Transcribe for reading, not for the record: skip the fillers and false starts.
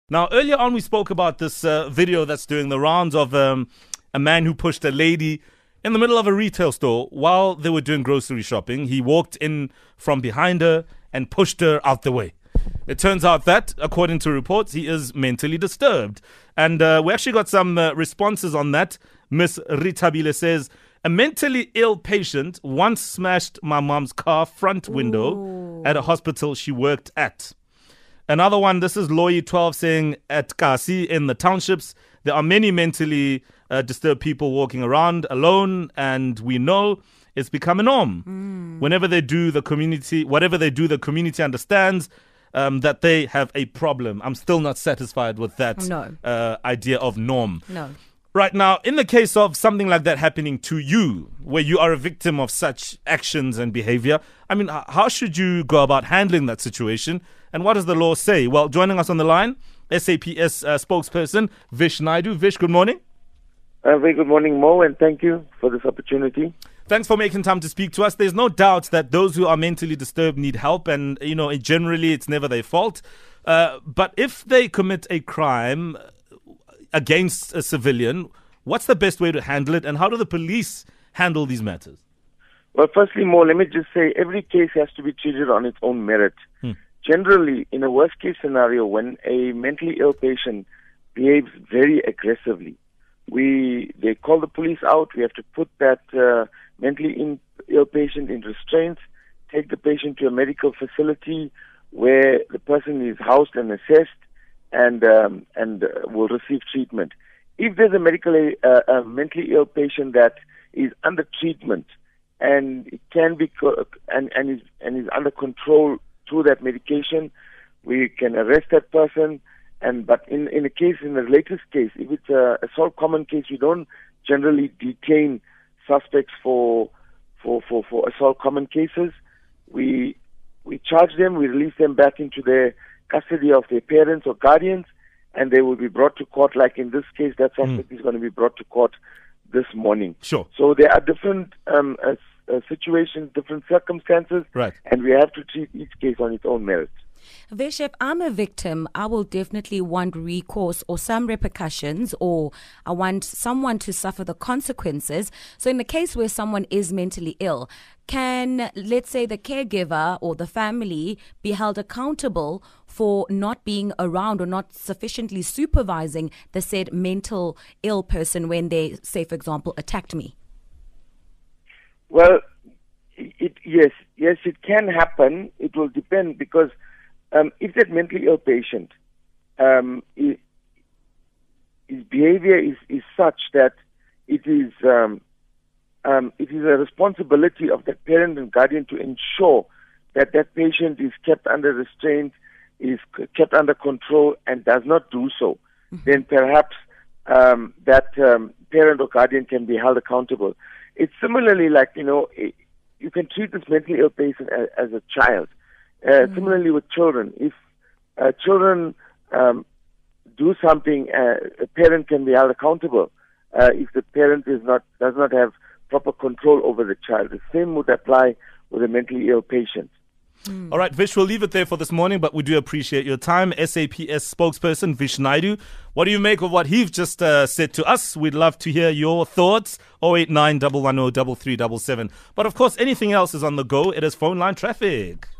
Now, earlier on, we spoke about this video that's doing the rounds of a man who pushed a lady in the middle of a retail store while they were doing grocery shopping. He walked in from behind her and pushed her out the way. It turns out that, according to reports, he is mentally disturbed. And we actually got some responses on that. Miss Ritabile says, a mentally ill patient once smashed my mom's car front window at a hospital she worked at. Another one, this is Loyi12 saying, at Kasi in the townships, there are many mentally disturbed people walking around alone, and we know it's become a norm. Whenever they do, the community, whatever they do, the community understands that they have a problem. I'm still not satisfied with that idea of norm. No. Right now, in the case of something like that happening to you, where you are a victim of such actions and behavior, I mean, how should you go about handling that situation? And what does the law say? Well, joining us on the line, SAPS spokesperson Vish Naidu. Vish, good morning. Very good morning, Mo, and thank you for this opportunity. Thanks for making time to speak to us. There's no doubt that those who are mentally disturbed need help, and, you know, generally it's never their fault. But if they commit a crime against a civilian, what's the best way to handle it, and how do the police handle these matters? Well, firstly, Mo, let me just say every case has to be treated on its own merit. Generally, in a worst-case scenario, when a mentally ill patient behaves very aggressively, they call the police out. We have to put that mentally ill patient in restraints, take the patient to a medical facility where the person is housed and assessed, and will receive treatment. If there's a mentally ill patient that is under treatment and it can be and is under control through that medication, we can arrest that person. But in the latest case, if it's a assault common case, we don't generally detain suspects for assault common cases. We charge them, we release them back into their custody of their parents or guardians, and they will be brought to court. Like in this case, that suspect is going to be brought to court this morning. Sure. So there are different situations, different circumstances, right, and we have to treat each case on its own merit. Vish, if I'm a victim, I will definitely want recourse or some repercussions, or I want someone to suffer the consequences. So in the case where someone is mentally ill, can, let's say, the caregiver or the family be held accountable for not being around or not sufficiently supervising the said mental ill person when they, say, for example, attacked me? Well, yes, it can happen. It will depend, because if that mentally ill patient, his behavior is such that it is a responsibility of the parent and guardian to ensure that that patient is kept under restraint, is kept under control, and does not do so, then perhaps that parent or guardian can be held accountable. It's similarly like, you can treat this mentally ill patient as a child. Similarly with children, if children do something, a parent can be held accountable if the parent does not have proper control over the child. The same would apply with a mentally ill patient. All right, Vish, we'll leave it there for this morning, but we do appreciate your time. SAPS spokesperson Vish Naidu, what do you make of what he's just said to us? We'd love to hear your thoughts. 089 110 3377. But of course, anything else is on the go. It is phone line traffic.